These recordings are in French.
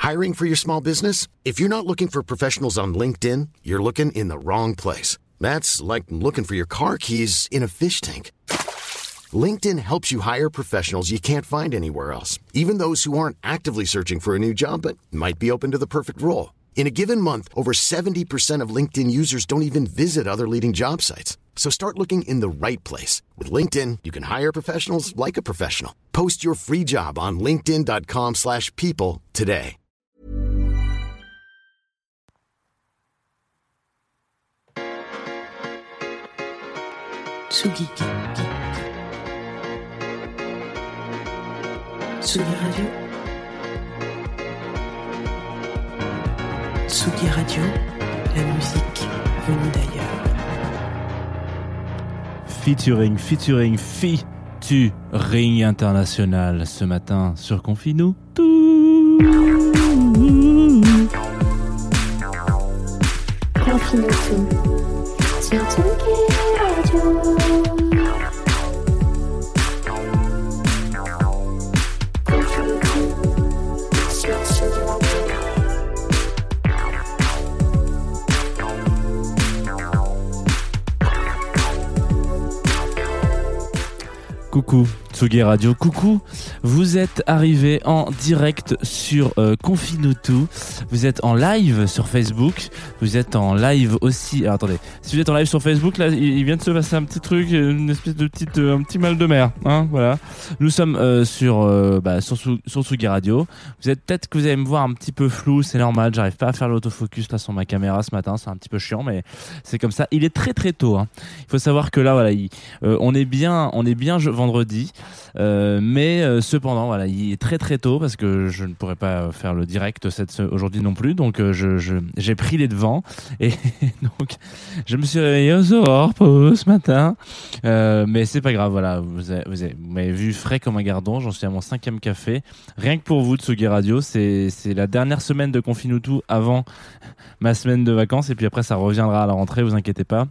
Hiring for your small business? If you're not looking for professionals on LinkedIn, you're looking in the wrong place. That's like looking for your car keys in a fish tank. LinkedIn helps you hire professionals you can't find anywhere else, even those who aren't actively searching for a new job but might be open to the perfect role. In a given month, over 70% of LinkedIn users don't even visit other leading job sites. So start looking in the right place. With LinkedIn, you can hire professionals like a professional. Post your free job on linkedin.com/people today. Tsugi. Tsugi Radio. Tsugi Radio, la musique venue d'ailleurs. Featuring international ce matin sur Confinou. Confinou sur Tsugi Radio. Coucou Tsugi Radio, coucou, vous êtes arrivés en direct sur Confinoutou, vous êtes en live sur Facebook, vous êtes en live aussi, alors attendez, si vous êtes en live sur Facebook, là il vient de se passer un petit truc, une espèce de un petit mal de mer, hein, voilà. Nous sommes sur Tsugi Radio, peut-être que vous allez me voir un petit peu flou, c'est normal, j'arrive pas à faire l'autofocus là sur ma caméra ce matin, c'est un petit peu chiant, mais c'est comme ça, il est très très tôt, hein. Il faut savoir que là, voilà, on est bien vendredi, mais cependant voilà, il est très très tôt parce que je ne pourrais pas faire le direct aujourd'hui non plus, donc j'ai pris les devants et donc je me suis réveillé aux aurores ce matin, mais c'est pas grave, voilà, vous m'avez vu frais comme un gardon, j'en suis à mon 5e café, rien que pour vous Tsugi Radio, c'est la dernière semaine de Confinoutou avant ma semaine de vacances et puis après ça reviendra à la rentrée, vous inquiétez pas.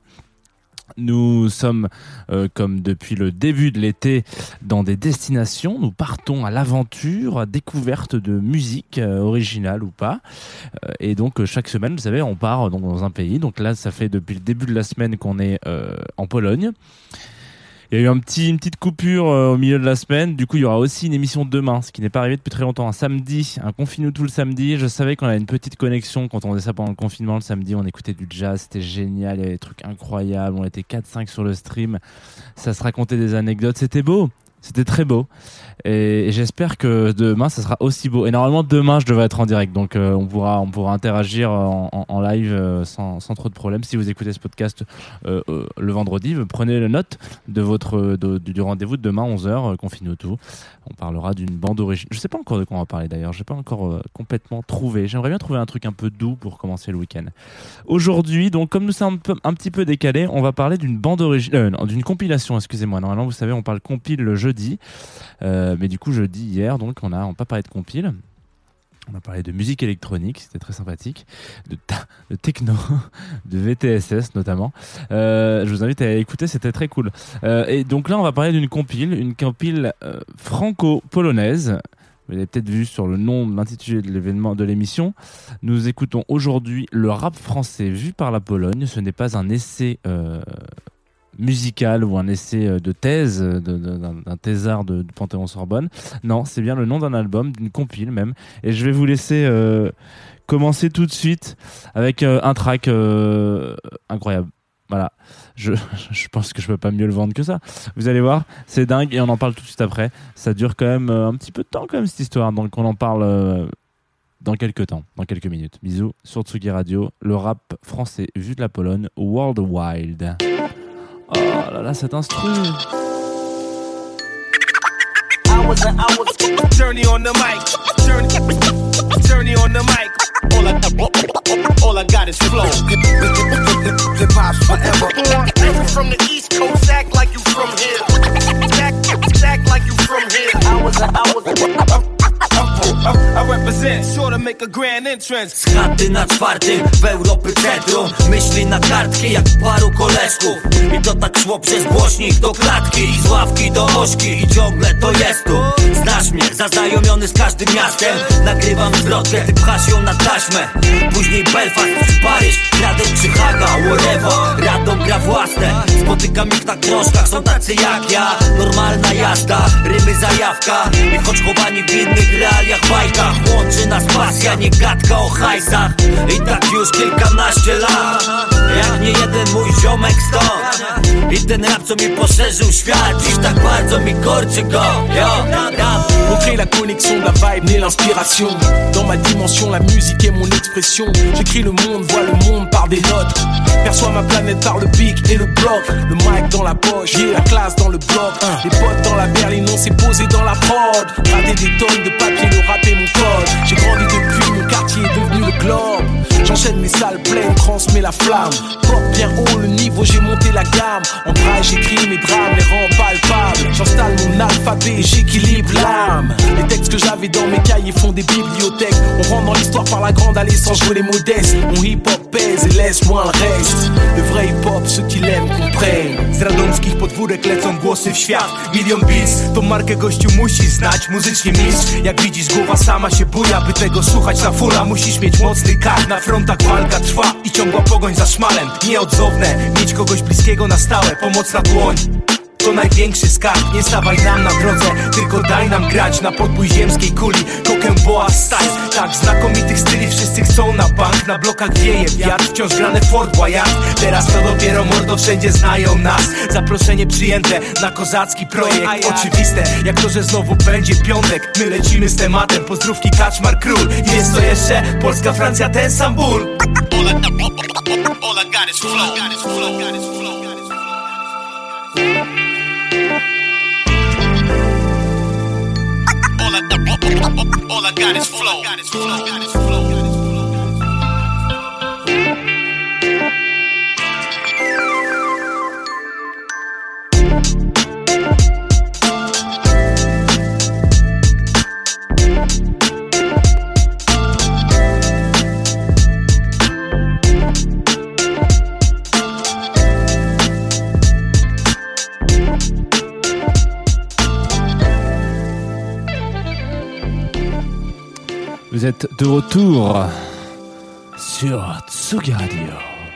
Nous sommes, comme depuis le début de l'été, dans des destinations. Nous partons à l'aventure, à découverte de musique originale ou pas. Et donc, chaque semaine, vous savez, on part dans un pays. Donc là, ça fait depuis le début de la semaine qu'on est en Pologne. Il y a eu une petite coupure au milieu de la semaine. Du coup, il y aura aussi une émission demain, ce qui n'est pas arrivé depuis très longtemps. Un samedi, un Confinoutou le samedi. Je savais qu'on avait une petite connexion quand on faisait ça pendant le confinement. Le samedi, on écoutait du jazz. C'était génial. Il y avait des trucs incroyables. On était 4-5 sur le stream. Ça se racontait des anecdotes. C'était beau. C'était très beau. Et j'espère que demain, ça sera aussi beau. Et normalement, demain, je devrais être en direct. Donc, on pourra interagir en live sans trop de problèmes. Si vous écoutez ce podcast le vendredi, prenez la note du rendez-vous de demain, 11h, Confinoutou. On parlera d'une bande originale. Je sais pas encore de quoi on va parler d'ailleurs. J'ai pas encore complètement trouvé. J'aimerais bien trouver un truc un peu doux pour commencer le week-end. Aujourd'hui, donc, comme nous sommes un petit peu décalés, on va parler d'une bande originale, d'une compilation, excusez-moi. Normalement, vous savez, on parle compile le jeudi. Mais du coup jeudi hier, donc on n'a pas parlé de compile, on a parlé de musique électronique, c'était très sympathique, de techno, de VTSS notamment. Je vous invite à écouter, c'était très cool. Et donc là on va parler d'une compile franco-polonaise. Vous avez peut-être vu sur le nom, l'intitulé de l'événement, de l'émission. Nous écoutons aujourd'hui le rap français vu par la Pologne. Ce n'est pas un essai musical ou un essai de thèse d'un thésard de Panthéon-Sorbonne. Non, c'est bien le nom d'un album, d'une compile même. Et je vais vous laisser commencer tout de suite avec un track incroyable. Voilà, je pense que je peux pas mieux le vendre que ça. Vous allez voir, c'est dingue et on en parle tout de suite après. Ça dure quand même un petit peu de temps quand même cette histoire, donc on en parle dans quelques temps, dans quelques minutes. Bisous sur Tsugi Radio, le rap français vu de la Pologne, World Wild. Oh là là, cet instru. Hours and hours, journey on the mic, journey on the mic. All I got is flow. Hip hop's forever. You from the East Coast, act like you from here. Act like you from here. Hours and hours. I represent, sort to make a grand entrance. Z chaty na czwartym w Europy centrum. Myśli na kartki jak paru koleżków. I to tak szło przez głośnik do klatki i z ławki do ośki i ciągle to jest tu. Znasz mnie, zaznajomiony z każdym miastem. Nagrywam zwrotkę, ty pchasz ją na taśmę. Później Belfast, Paryż, Gradec czy Haga, whatever. Radom gra własne, spotykam ich na krążkach. Są tacy jak ja, normalna jazda. Rymy zajawka i choć chowani w innych realiach, bajkach, łączy nas pasja, nie gadka o hajsach. I tak już kilkanaście lat, jak nie jeden mój ziomek stąd. I ten rap co mi poszerzył świat, dziś tak bardzo mi korczy go. On crée la connexion, la vibe, naît l'inspiration. Dans ma dimension, la musique est mon expression. J'écris le monde, vois le monde par des notes. Perçois ma planète par le pic et le bloc. Le mic dans la poche, la classe dans le bloc. Les potes dans la berline, on s'est posé dans la prod. Rater des tonnes de papier, le rap est mon code. J'ai grandi depuis, mon quartier est devenu le globe. J'enchaîne mes salles pleines, transmets la flamme. Porte bien haut le niveau, j'ai monté la gamme. En braille, j'écris mes drames, les rends palpables. J'installe mon alphabet et j'équilibre l'âme. Les textes que j'avais dans mes cahiers font des bibliothèques. On rentre dans l'histoire par la grande allée sans jouer les modestes. Mon hip-hop pèse et laisse moins le reste. Le vrai hip-hop, ceux qui l'aiment comprennent. Z radomskich podwórek lecą głosy w świat. Milion Beats, tą markę gościu musi znać. Muzycznie mistrz, jak widzisz głowa sama się buja. By tego słuchać na fulla musisz mieć mocny kar. Na frontach walka trwa i ciągła pogoń za szmalem. Nieodzowne, mieć kogoś bliskiego na stałe. Pomocna dłoń to największy skarb, nie stawaj nam na drodze, tylko daj nam grać na podbój ziemskiej kuli. Kokę boa style, tak znakomitych styli wszyscy chcą na bank. Na blokach wieje wiatr, wciąż grane Fort Boyard. Teraz to dopiero mordo, wszędzie znają nas. Zaproszenie przyjęte na kozacki projekt. Oczywiste, jak to, że znowu będzie piątek. My lecimy z tematem, pozdrówki Kaczmar Król. I jest to jeszcze Polska, Francja, ten sam ból. All I got is flow. All I got is flow. Vous êtes de retour sur Tsugi Radio.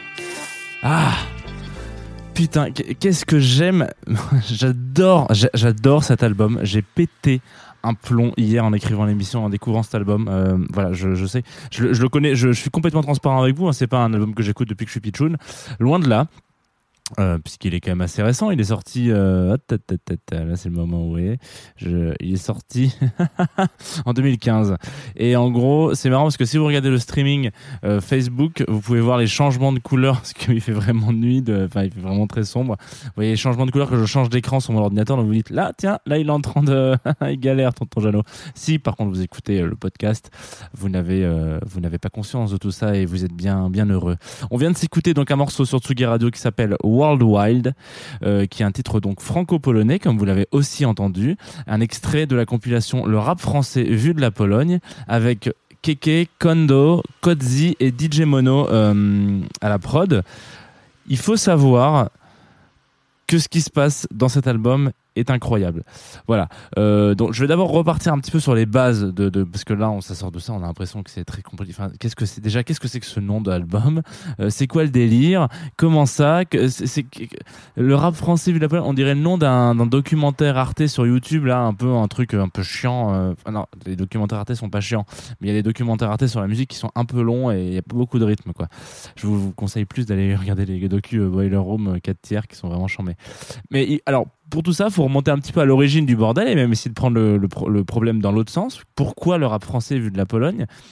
Ah putain, qu'est-ce que j'aime. J'adore cet album. J'ai pété un plomb hier en écrivant l'émission, en découvrant cet album. Voilà, je sais, je le connais, je suis complètement transparent avec vous, hein, c'est pas un album que j'écoute depuis que je suis pitchoun, loin de là. Puisqu'il est quand même assez récent, il est sorti là c'est le moment où il est sorti en 2015 et en gros c'est marrant parce que si vous regardez le streaming Facebook, vous pouvez voir les changements de couleurs parce qu'il fait vraiment nuit, il fait vraiment très sombre. Vous voyez les changements de couleurs que je change d'écran sur mon ordinateur, donc vous dites là tiens, là il est en train de il galère tonton Jeannot. Si par contre vous écoutez le podcast, vous n'avez pas conscience de tout ça et vous êtes bien heureux. On vient de s'écouter donc un morceau sur Tsugi Radio qui s'appelle World Wild, qui est un titre donc franco-polonais, comme vous l'avez aussi entendu, un extrait de la compilation Le rap français vu de la Pologne, avec Keke, Kondo, Kodzi et DJ Mono à la prod. Il faut savoir que ce qui se passe dans cet album est incroyable. Voilà. Donc je vais d'abord repartir un petit peu sur les bases de parce que là on s'assort de ça, on a l'impression que c'est très compliqué. Enfin, qu'est-ce que c'est que ce nom d'album, c'est quoi le délire, comment ça, c'est le rap français vu de la Pologne, on dirait le nom d'un documentaire Arte sur YouTube là, un truc un peu chiant. Non, les documentaires Arte sont pas chiants, mais il y a des documentaires Arte sur la musique qui sont un peu longs et il y a pas beaucoup de rythme quoi. Je vous conseille plus d'aller regarder les docus Boiler Room 4 tiers qui sont vraiment chambés. Mais alors pour tout ça, il faut remonter un petit peu à l'origine du bordel et même essayer de prendre le problème dans l'autre sens. Pourquoi le rap français vu de la Pologne ?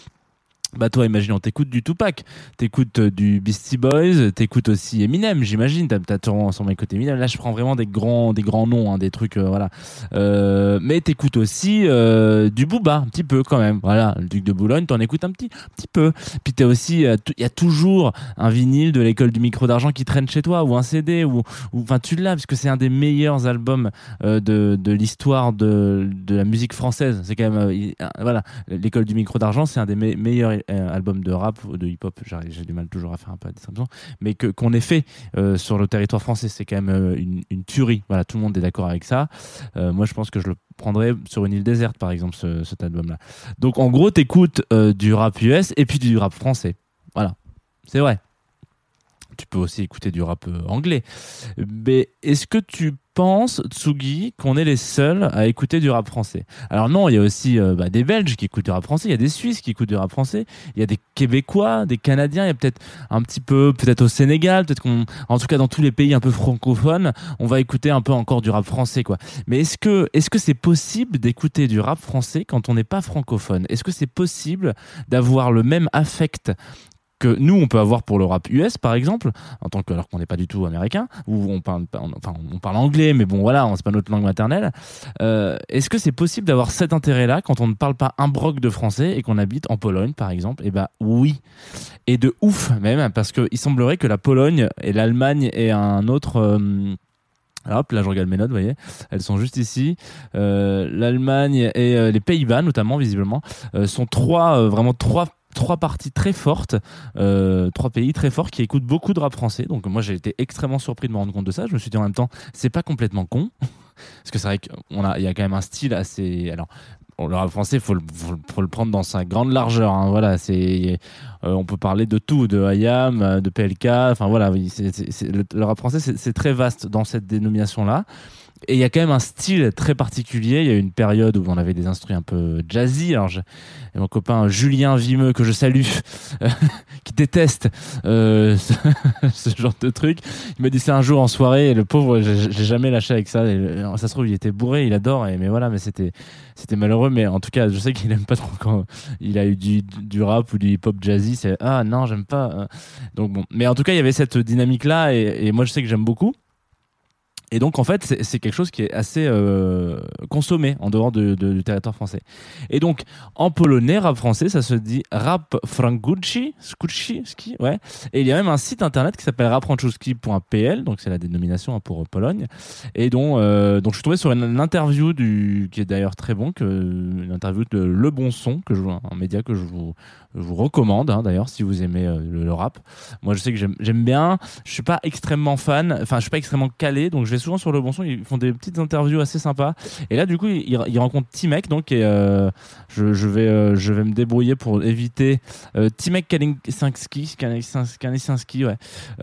Bah toi, imaginons, t'écoutes du Tupac, t'écoutes du Beastie Boys, t'écoutes aussi Eminem, j'imagine. T'as sûrement écouté Eminem. Là, je prends vraiment des grands noms, hein, des trucs, voilà. Mais t'écoutes aussi du Booba, un petit peu quand même. Voilà, le Duc de Boulogne, t'en écoutes un petit peu. Puis t'as aussi, il y a toujours un vinyle de l'école du micro d'argent qui traîne chez toi, ou un CD, ou enfin tu l'as parce que c'est un des meilleurs albums de l'histoire de la musique française. C'est quand même, voilà, l'école du micro d'argent, c'est un des meilleurs album de rap ou de hip-hop, j'ai du mal toujours à faire un peu la distinction, mais qu'on ait fait sur le territoire français, c'est quand même une tuerie. Voilà, tout le monde est d'accord avec ça. Moi, je pense que je le prendrais sur une île déserte, par exemple, cet album-là. Donc, en gros, t'écoutes du rap US et puis du rap français. Voilà, c'est vrai. Tu peux aussi écouter du rap anglais. Mais est-ce que tu penses, Tsugi, qu'on est les seuls à écouter du rap français? Alors non, il y a aussi des Belges qui écoutent du rap français, il y a des Suisses qui écoutent du rap français, il y a des Québécois, des Canadiens, il y a peut-être un petit peu, peut-être au Sénégal, peut-être en tout cas dans tous les pays un peu francophones, on va écouter un peu encore du rap français, quoi. Mais est-ce que c'est possible d'écouter du rap français quand on n'est pas francophone? Est-ce que c'est possible d'avoir le même affect que nous on peut avoir pour le rap US par exemple, alors qu'on n'est pas du tout américain, ou on parle anglais, mais bon voilà, c'est pas notre langue maternelle. Est-ce que c'est possible d'avoir cet intérêt-là quand on ne parle pas un broc de français et qu'on habite en Pologne par exemple? Eh ben oui, et de ouf même, parce que il semblerait que la Pologne et l'Allemagne et un autre alors hop, là je regarde mes notes, vous voyez, elles sont juste ici. L'Allemagne et les Pays-Bas notamment visiblement sont trois parties très fortes, trois pays très forts qui écoutent beaucoup de rap français. Donc moi j'ai été extrêmement surpris de me rendre compte de ça. Je me suis dit en même temps, c'est pas complètement con, parce que c'est vrai il y a quand même un style assez. Alors le rap français, faut le prendre dans sa grande largeur. Hein. Voilà, on peut parler de tout, de IAM, de PLK. Enfin voilà, le rap français c'est très vaste dans cette dénomination-là. Et il y a quand même un style très particulier. Il y a eu une période où on avait des instruments un peu jazzy. Alors, mon copain Julien Vimeux, que je salue, qui déteste ce genre de truc, il m'a dit ça un jour en soirée, et le pauvre, j'ai jamais lâché avec ça. Et, ça se trouve, il était bourré, il adore, mais voilà, mais c'était malheureux. Mais en tout cas, je sais qu'il aime pas trop quand il a eu du rap ou du hip-hop jazzy. C'est ah non, j'aime pas. Donc bon, mais en tout cas, il y avait cette dynamique-là, et moi, je sais que j'aime beaucoup. Et donc en fait c'est quelque chose qui est assez consommé en dehors du territoire français. Et donc en polonais, rap français, ça se dit rap francuski, ouais. Et il y a même un site internet qui s'appelle rapfrancuski.pl, donc c'est la dénomination pour Pologne. Et donc je suis tombé sur une interview qui est d'ailleurs très bon, une interview de Le Bon Son, un média que je vous recommande, hein, d'ailleurs, si vous aimez le rap. Moi je sais que j'aime bien. Je suis pas extrêmement fan, enfin je suis pas extrêmement calé, donc je vais souvent sur Le Bon Son, ils font des petites interviews assez sympas. Et là, du coup, ils rencontrent Timek, donc, et je vais me débrouiller pour éviter Timek Kalinsinski, ouais,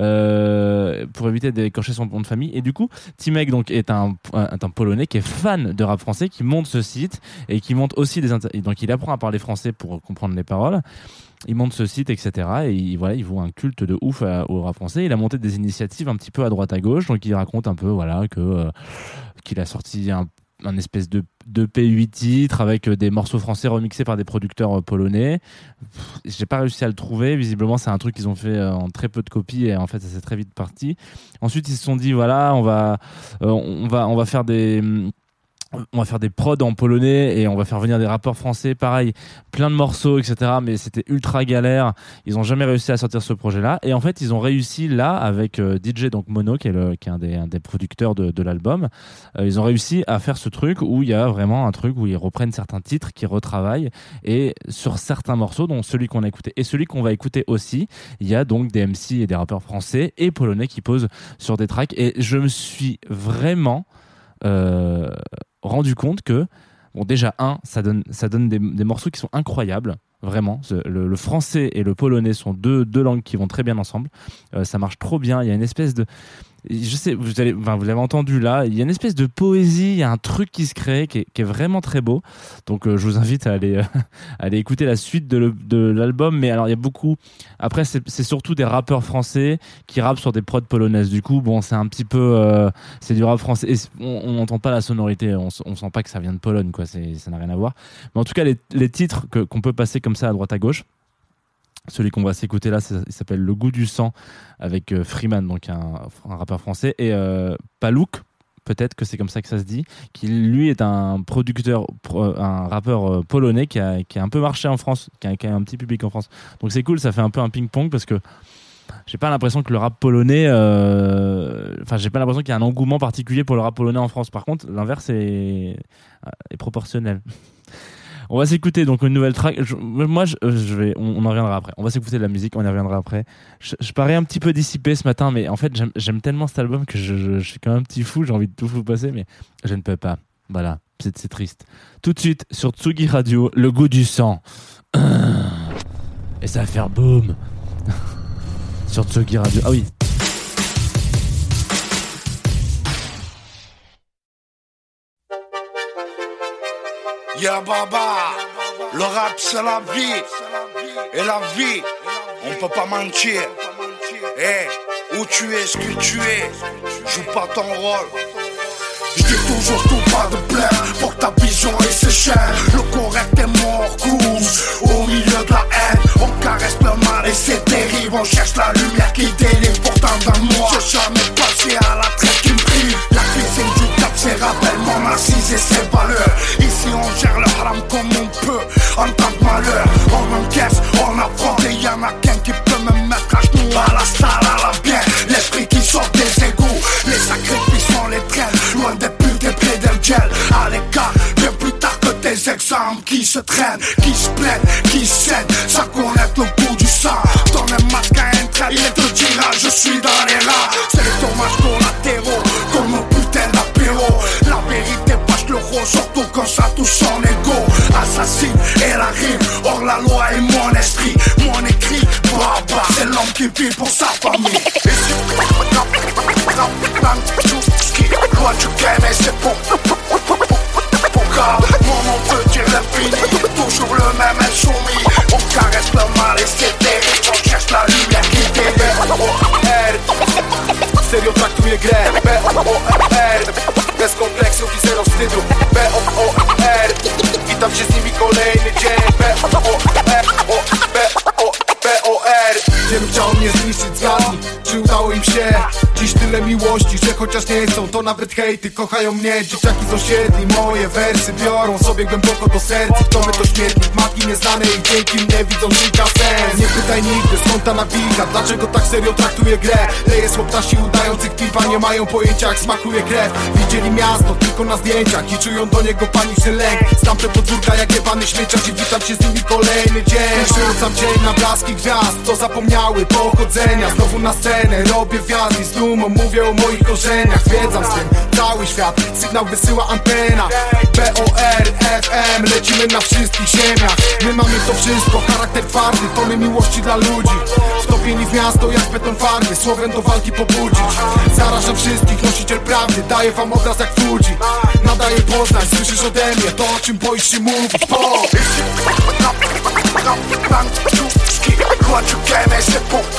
pour éviter d'écorcher son nom de famille. Et du coup, Timek donc est un Polonais qui est fan de rap français, qui monte ce site et qui monte aussi donc il apprend à parler français pour comprendre les paroles. Il monte ce site, etc. Et il voit un culte de ouf au rap français. Il a monté des initiatives un petit peu à droite à gauche. Donc il raconte un peu qu'il a sorti un espèce de P8 titres avec des morceaux français remixés par des producteurs polonais. J'ai pas réussi à le trouver. Visiblement, c'est un truc qu'ils ont fait en très peu de copies, et en fait, ça s'est très vite parti. Ensuite, ils se sont dit voilà, on va faire des prods en polonais et on va faire venir des rappeurs français, pareil, plein de morceaux, etc. Mais c'était ultra galère. Ils ont jamais réussi à sortir ce projet-là. Et en fait, ils ont réussi là avec DJ, donc Mono, qui est un des producteurs de l'album. Ils ont réussi à faire ce truc où il y a vraiment un truc où ils reprennent certains titres, qu'ils retravaillent, et sur certains morceaux, dont celui qu'on a écouté et celui qu'on va écouter aussi, il y a donc des MC et des rappeurs français et polonais qui posent sur des tracks. Et je me suis vraiment rendu compte que bon, déjà ça donne des morceaux qui sont incroyables, vraiment. Le français et le polonais sont deux langues qui vont très bien ensemble. Ça marche trop bien. Il y a une espèce de, je sais, vous l'avez entendu là, il y a une espèce de poésie, il y a un truc qui se crée qui est vraiment très beau. Donc je vous invite à aller écouter la suite de l'album. Mais alors il y a beaucoup, après c'est surtout des rappeurs français qui rappent sur des prods polonaises. Du coup bon, c'est un petit peu c'est du rap français, et on n'entend pas la sonorité, on sent pas que ça vient de Pologne, quoi. Ça n'a rien à voir. Mais en tout cas les titres qu'on peut passer comme ça à droite à gauche, Celui qu'on va s'écouter là, il s'appelle Le Goût du sang avec Freeman, donc un rappeur français, et Palouk, peut-être que c'est comme ça que ça se dit, qui lui est un producteur, un rappeur polonais qui a un peu marché en France, qui a un petit public en France. Donc c'est cool, ça fait un peu un ping-pong parce que j'ai pas l'impression que le rap polonais, j'ai pas l'impression qu'il y a un engouement particulier pour le rap polonais en France. Par contre, l'inverse est proportionnel. On va s'écouter donc une nouvelle track. On en reviendra après. On va s'écouter de la musique, on y reviendra après. Je parais un petit peu dissipé ce matin, mais en fait j'aime tellement cet album que je suis comme un petit fou. J'ai envie de tout vous passer, mais je ne peux pas. Voilà, c'est triste. Tout de suite sur Tsugi Radio, Le Goût du sang. Et ça va faire boum. Sur Tsugi Radio. Ah oui. Ya baba, le rap c'est la vie, et la vie, on peut pas mentir. Où tu es, ce que tu es, joue pas ton rôle. Je dis toujours tout pas de plaire, pour que ta vision et ses chaînes. Le correct est mort, cause au milieu de la haine. On caresse le mal et c'est terrible. On cherche la lumière qui délivre. Pourtant dans moi, j'ai jamais passé à la traite qui me prive. La cuisine du quartier rappelle mon assise et ses valeurs. Ici on gère le haram comme on peut. En temps de malheur, on encaisse, on apprend. Et y'en a qu'un qui peut me mettre à genoux. À la salle, à la bien, l'esprit qui sort des égouts. Les sacrifices on les traîne, loin des putes et près d'un gel. À l'écart, bien plus tard que tes exemples qui se traînent, qui se plaignent, qui saignent, sans connaître le goût du sang. Donne un masque à un trait, il te dira je suis dans les rats. C'est les dommages collatéraux, comme un putain d'apéro. La vérité passe le rose, surtout quand ça touche son ego. Assassine et la rime, hors la loi et mon esprit. Mon écrit, baba, c'est l'homme qui vit pour sa famille. Loin du game et c'est bon. Mon nom veut dire l'infini, toujours le même insoumis. On caresse le mal et c'est terrible. On cherche la lumière qui délivre. B-O-R, serio traktuje grę. B-O-R, bez kompleksów i zero wstydu. B-O-R, witam się z nimi kolejny dzień. B-O-R, B-O-R. Wielu chciał mnie zniszczyć, zgadnij, czy udało im się? Dziś tyle miłości, że chociaż nie chcą, to nawet hejty kochają mnie. Dzieciaki z osiedli, moje wersy biorą sobie głęboko do serca. Kto my to śmietnik, matki nieznane i dzięki mnie widzą życia sens. Nie pytaj nigdy, skąd ta nawika, dlaczego tak serio traktuje grę. Leje słoptasi udających pipa, nie mają pojęcia jak smakuje krew. Widzieli miasto tylko na zdjęciach i czują do niego paniczny lęk. Znam te podwórka jak jebany śmieciarz i witam się z nimi kolejny dzień. Przerzucam cień na blaski gwiazd, co zapomniały pochodzenia. Znowu na scenę, robię wjazd i z dumą mówię o moich korzeniach. Zwiedzam z tym cały świat, sygnał wysyła antena. B-O-R, FM, lecimy na wszystkich ziemiach. My mamy to wszystko, charakter twardy, tony miłości dla ludzi. Wtopieni w miasto jak beton farby, słowem do walki pobudzić. Zarażam wszystkich, nosiciel prawdy, daję wam obraz jak Fuji. Nadaję Poznań, słyszysz ode mnie to o czym boisz się mówić. Loin du game et c'est bon.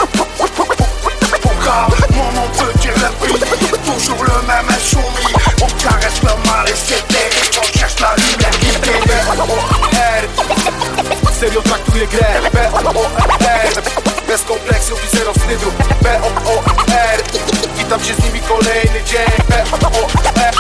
Mon nom veut dire l'infini, toujours le même insoumis. On caresse le mal et c'est terrible. On cherche la lumière qui délivre. B-O-R, serio traktuje grę. B-O-R, bez kompleksów i zero wstydu. B-O-R, witam się z nimi kolejny dzień. B-O-R,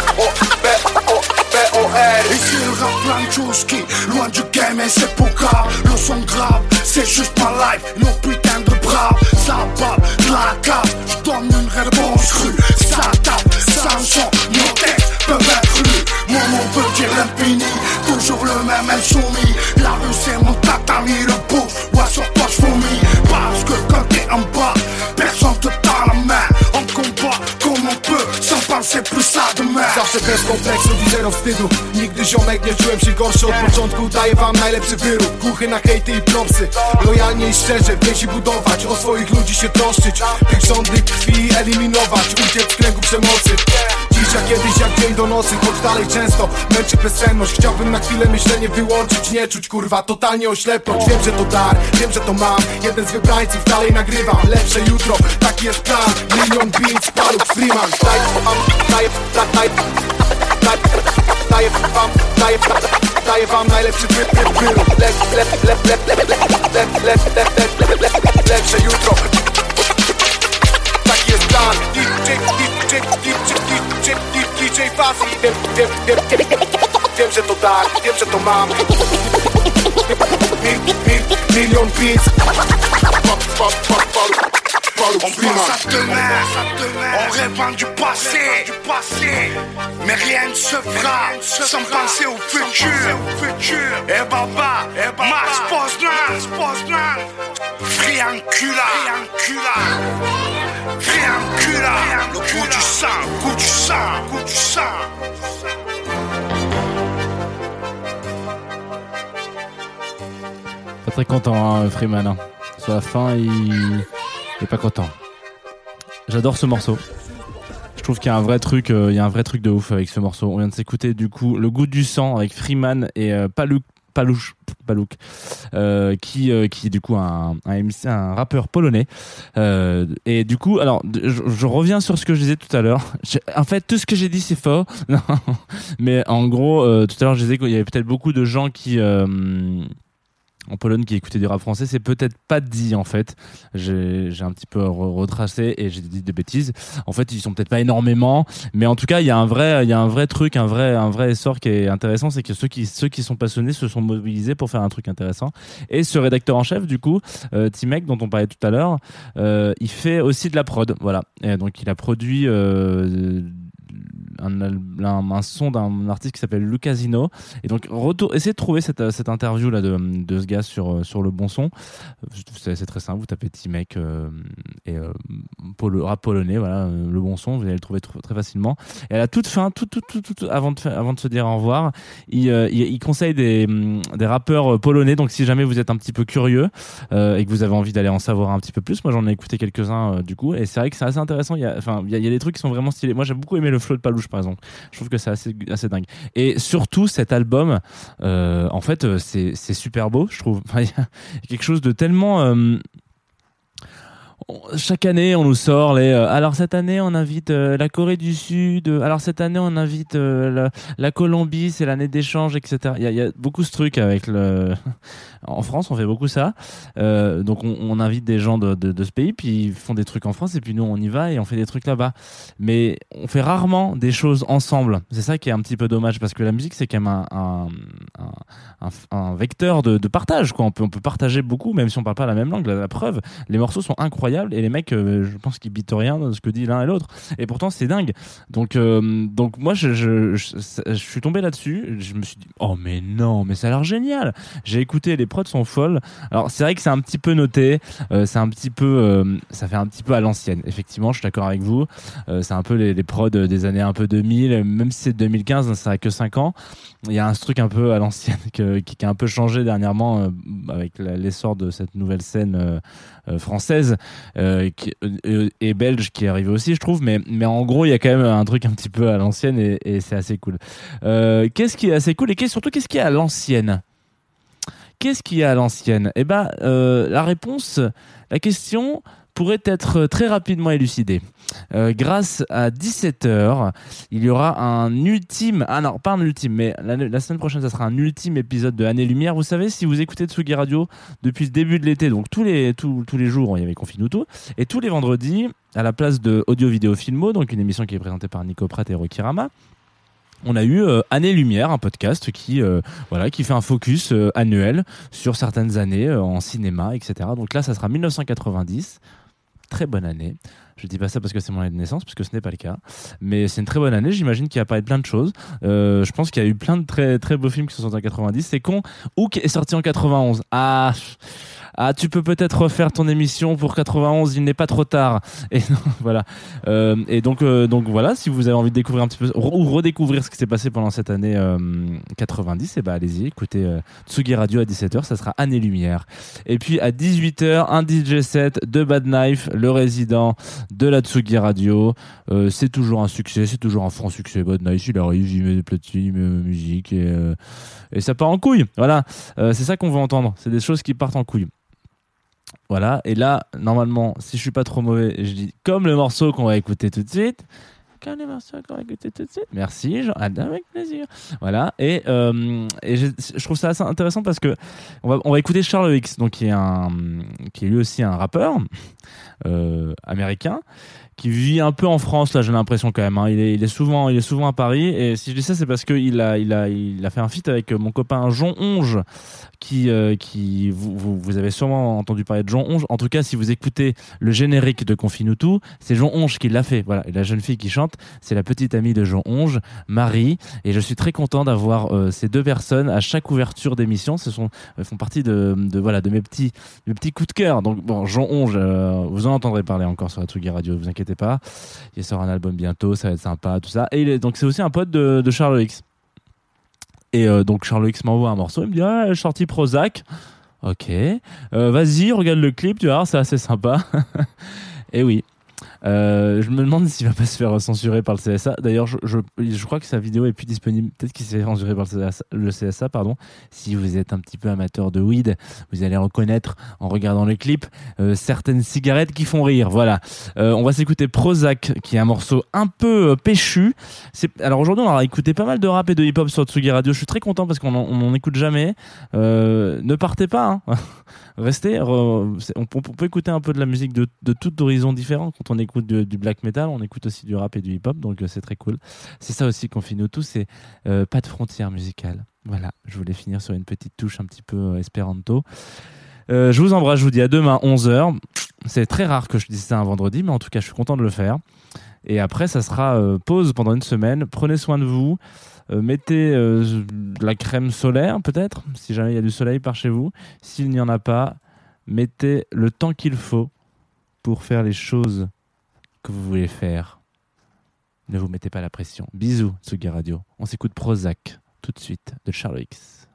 B-O-R. Ici le rap francuski, loin du game et c'est pour grave. Le son grave, c'est juste ma life, nos putains de braves. Ça balle, de la cave, j'donne une réponse crue. Ça tape, ça son, nos textes peuvent être lus. Mon nom veut dire l'infini, toujours le même insoumis. La rue c'est mon tatami, le bouge, ouais sur toi j'vomis. Parce que quand t'es en bas, personne te tend la main. On combat comme on peut, sans penser plus à demain. Zawsze bez kompleksów i zero wstydu. Nigdy ziomek nie czułem się gorszy od początku. Daję wam najlepszy wyrób, głuchy na hejty i propsy. Lojalnie i szczerze więzi budować, o swoich ludzi się troszczyć. Tych rządy krwi eliminować, uciec z kręgu przemocy. Dziś jak kiedyś, jak dzień do nocy, choć dalej często męczy bezsenność. Chciałbym na chwilę myślenie wyłączyć, nie czuć kurwa, totalnie oślepnąć. Wiem, że to dar, wiem, że to mam. Jeden z wybrańców, dalej nagrywam. Lepsze jutro, taki jest plan. Milion beats, Palouk, Freeman. Daję wam najlepszy wyrób. tak, wiem, że to mam milion beats. On pense à demain, on rêve du passé, mais rien ne se fera sans penser au futur. Eh baba, Max Poznan, Friancula, le goût du sang. Pas très content, hein, Freeman. Hein. Sur la fin, il est pas content. J'adore ce morceau. Je trouve qu'il y a un vrai truc, de ouf avec ce morceau. On vient de s'écouter du coup Le Goût du sang avec Freeman et Palouk, qui est du coup un rappeur polonais. Et du coup, alors, je reviens sur ce que je disais tout à l'heure. En fait, tout ce que j'ai dit, c'est faux. Non. Mais en gros, tout à l'heure, je disais qu'il y avait peut-être beaucoup de gens qui en Pologne qui écoutaient du rap français. C'est peut-être pas dit en fait. J'ai un petit peu retracé et j'ai dit des bêtises. En fait, ils sont peut-être pas énormément, mais en tout cas, il y a un vrai truc, un vrai essor qui est intéressant, c'est que ceux qui sont passionnés se sont mobilisés pour faire un truc intéressant. Et ce rédacteur en chef, du coup, Timek, dont on parlait tout à l'heure, il fait aussi de la prod, voilà. Et donc, il a produit un son d'un artiste qui s'appelle Lucasino, et donc essayez de trouver cette interview là de ce gars sur le bon son. C'est très simple, vous tapez Timek et rap polonais, voilà, le bon son, vous allez le trouver très facilement. Et à la toute fin, tout avant de se dire au revoir, il conseille des rappeurs polonais, donc si jamais vous êtes un petit peu curieux et que vous avez envie d'aller en savoir un petit peu plus, moi j'en ai écouté quelques-uns du coup, et c'est vrai que c'est assez intéressant. Il y a des trucs qui sont vraiment stylés. Moi j'ai beaucoup aimé le flow de Palouche par exemple. Je trouve que c'est assez dingue. Et surtout cet album, en fait, c'est super beau, je trouve. Il y a quelque chose de tellement chaque année on nous sort alors cette année on invite la Corée du Sud, alors cette année on invite la Colombie, c'est l'année d'échange, etc. Il y a beaucoup ce truc avec en France on fait beaucoup ça, donc on invite des gens de ce pays, puis ils font des trucs en France et puis nous on y va et on fait des trucs là-bas, mais on fait rarement des choses ensemble. C'est ça qui est un petit peu dommage, parce que la musique c'est quand même un vecteur de partage, quoi. On peut partager beaucoup même si on parle pas la même langue. La preuve, les morceaux sont incroyables et les mecs, je pense qu'ils bitent rien dans ce que dit l'un et l'autre, et pourtant c'est dingue. Donc moi je suis tombé là-dessus, je me suis dit oh mais non, mais ça a l'air génial. J'ai écouté, les prods sont folles. Alors c'est vrai que c'est un petit peu noté, c'est un petit peu ça fait un petit peu à l'ancienne, effectivement, je suis d'accord avec vous. C'est un peu les prods des années un peu 2000, même si c'est 2015, ça a que 5 ans. Il y a un truc un peu à l'ancienne qui a un peu changé dernièrement avec l'essor de cette nouvelle scène française et belge qui est arrivée aussi, je trouve, mais en gros il y a quand même un truc un petit peu à l'ancienne et c'est assez cool. Qu'est-ce qui est assez cool et surtout qu'est-ce qui est à l'ancienne? Qu'est-ce qui est à l'ancienne? Eh ben la question pourrait être très rapidement élucidée. Grâce à 17h, il y aura un ultime... Ah non, pas un ultime, mais la semaine prochaine, ça sera un ultime épisode de Année Lumière. Vous savez, si vous écoutez Tsugi Radio depuis le début de l'été, donc tous les jours, il y avait Confinuto, et tous les vendredis, à la place de Audio Vidéo Filmo, donc une émission qui est présentée par Nico Pratt et Rocky Rama, on a eu Année Lumière, un podcast qui fait un focus annuel sur certaines années en cinéma, etc. Donc là, ça sera 1990. Très bonne année. Je dis pas ça parce que c'est mon année de naissance, parce que ce n'est pas le cas. Mais c'est une très bonne année. J'imagine qu'il va apparaître plein de choses. Je pense qu'il y a eu plein de très, très beaux films qui sont sortis en 90. C'est con. Hook est sorti en 91. Tu peux peut-être refaire ton émission pour 91. Il n'est pas trop tard. Et voilà. Et donc voilà. Si vous avez envie de découvrir un petit peu ou redécouvrir ce qui s'est passé pendant cette année 90, allez-y. Écoutez Tsugi Radio à 17h. Ça sera Année Lumière. Et puis à 18h, un DJ set de Bad Knife, le résident de la Tsugi Radio. C'est toujours un succès, c'est toujours un franc succès. Bad Knife, il arrive, il met des platines, musique et ça part en couille. Voilà, c'est ça qu'on veut entendre. C'est des choses qui partent en couille. Voilà, et là, normalement, si je suis pas trop mauvais, je dis comme le morceau qu'on va écouter tout de suite. comme les morceaux qu'on va écouter tout de suite. Merci, Jean, avec plaisir. Voilà, et je trouve ça assez intéressant parce que on va écouter Charles X, donc qui est lui aussi un rappeur américain, qui vit un peu en France, là, j'ai l'impression quand même. Hein. Il est souvent à Paris. Et si je dis ça, c'est parce qu'il a fait un feat avec mon copain Jon Onge, qui vous avez sûrement entendu parler de Jon Onge. En tout cas, si vous écoutez le générique de Confine-nous tout, c'est Jon Onge qui l'a fait. Voilà. Et la jeune fille qui chante, c'est la petite amie de Jon Onge, Marie. Et je suis très content d'avoir ces deux personnes à chaque ouverture d'émission. Font partie de mes petits coups de cœur. Donc bon, Jon Onge, vous en entendrez parler encore sur la Tsugi Radio. Vous inquiétez pas, il sort un album bientôt, ça va être sympa, tout ça. Et donc c'est aussi un pote de Charles X. Et donc Charles X m'envoie un morceau, il me dit j'ai sorti Prozac. Ok, vas-y, regarde le clip, tu vas voir, c'est assez sympa. Et oui. Je me demande s'il va pas se faire censurer par le CSA. D'ailleurs, je crois que sa vidéo est plus disponible. Peut-être qu'il s'est fait censurer par le CSA, pardon. Si vous êtes un petit peu amateur de weed, vous allez reconnaître en regardant le clip certaines cigarettes qui font rire. Voilà. On va s'écouter Prozac, qui est un morceau un peu péchu. Alors aujourd'hui, on aura écouté pas mal de rap et de hip-hop sur Tsugi Radio. Je suis très content parce qu'on n'en écoute jamais. Ne partez pas. Hein. Restez. On peut écouter un peu de la musique de tout horizon différent. Quand on écoute du black metal, on écoute aussi du rap et du hip-hop, donc c'est très cool. C'est ça aussi qu'on finit tous, c'est pas de frontières musicales. Voilà, je voulais finir sur une petite touche un petit peu espéranto. Je vous embrasse, je vous dis à demain 11h. C'est très rare que je dise ça un vendredi, mais en tout cas, je suis content de le faire. Et après, ça sera pause pendant une semaine. Prenez soin de vous. Mettez de la crème solaire, peut-être, si jamais il y a du soleil par chez vous. S'il n'y en a pas, mettez le temps qu'il faut pour faire les choses que vous voulez faire. Ne vous mettez pas la pression. Bisous, Tsugi Radio. On s'écoute Prozac tout de suite de Charles X.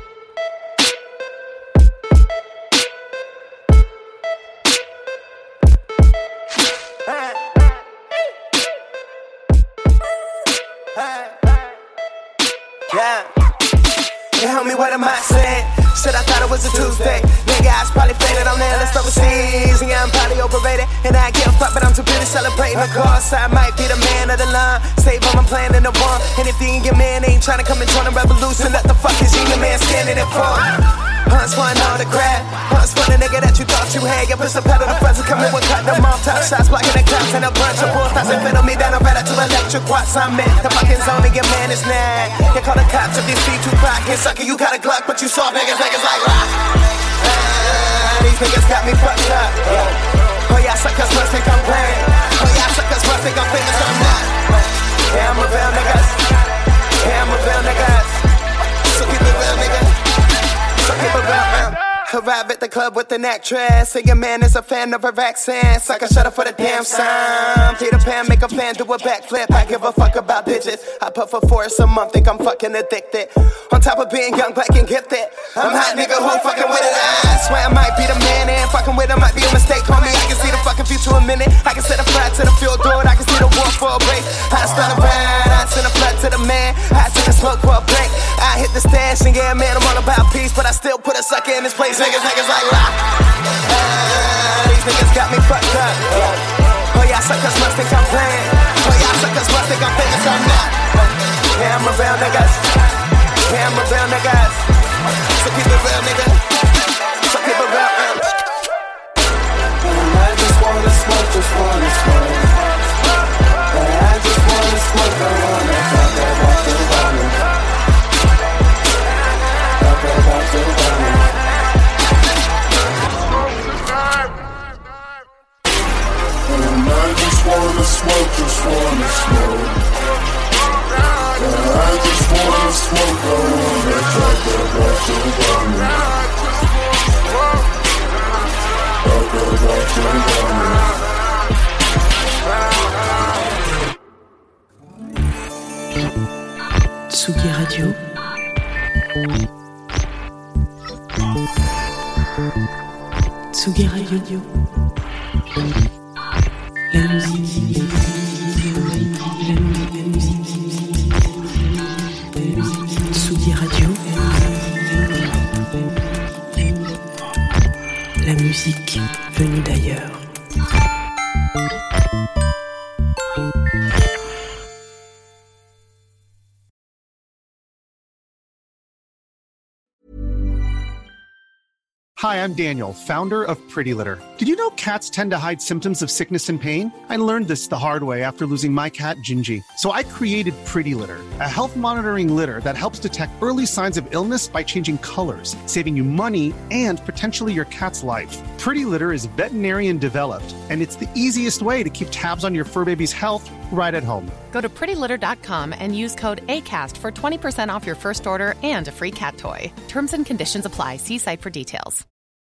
Yeah. You help me, what am I saying? Shit, I thought it was a Tuesday. Nigga, I was probably faded on there, let's overseas. And yeah, I'm probably overrated. And I give a fuck, but I'm too busy celebrating. Of course, I might be the man of the line. Save all my plan in the one. And if you ain't your man, ain't trying to come and join the revolution. What the fuck is you, your man, standing in for? Hunts for an autograph. Hunts for the nigga that you thought you had. You push the pedal to present, come in with cut them off. Top shots, blocking the cops and a bunch of bullshots. And fiddle me down, I'm better to electric watts. I'm in the fucking zone and your man is nag. You call the cops if you speak too clock. And sucker, you got a Glock, but you saw niggas like rock. These niggas got me fucked up. Oh yeah, suckers must think I'm playing. Oh yeah, suckers must think I'm famous, I'm not. Yeah, I'm a real niggas. Yeah, I'm a real niggas. So keep it real, nigga. So keep it real. Arrive at the club with an actress. Say your man is a fan of her accent. Sucker, shut up for the damn sound. Peter Pan, make a fan do a backflip. I give a fuck about digits. I puff for Forrest a month, think I'm fucking addicted. On top of being young, black and gifted, I'm hot nigga who fucking with it. I swear I might be the man and fucking with it might be a mistake. Homie, I can see the fucking future a minute. I can set a flat to the field door. I can see the war for a break. I start around, I send a flood to the man. I take a smoke for a break. I hit the stash and yeah, man, I'm all about peace, but I still put a sucker in his place. Niggas like rock. These niggas got me fucked up. Oh yeah, suckers must think I'm playing. Oh yeah, suckers must think I'm famous, I'm not. Yeah, I'm a real niggas. Yeah, I'm a real niggas. So keep it real, nigga. So keep it real. I just wanna smoke, just wanna smoke. I just wanna smoke, I wanna talk about the woman. Talk about the woman. I just wanna smoke, just wanna smoke. I just wanna smoke, I wanna talk about your woman. Talk about your woman. Tsugi Radio. Tsugi Radio. La musique. Tsugi Radio. La musique venue d'ailleurs. Hi, I'm Daniel, founder of Pretty Litter. Did you know cats tend to hide symptoms of sickness and pain? I learned this the hard way after losing my cat, Gingy. So I created Pretty Litter, a health monitoring litter that helps detect early signs of illness by changing colors, saving you money and potentially your cat's life. Pretty Litter is veterinarian developed, and it's the easiest way to keep tabs on your fur baby's health right at home. Go to prettylitter.com and use code ACAST for 20% off your first order and a free cat toy. Terms and conditions apply. See site for details.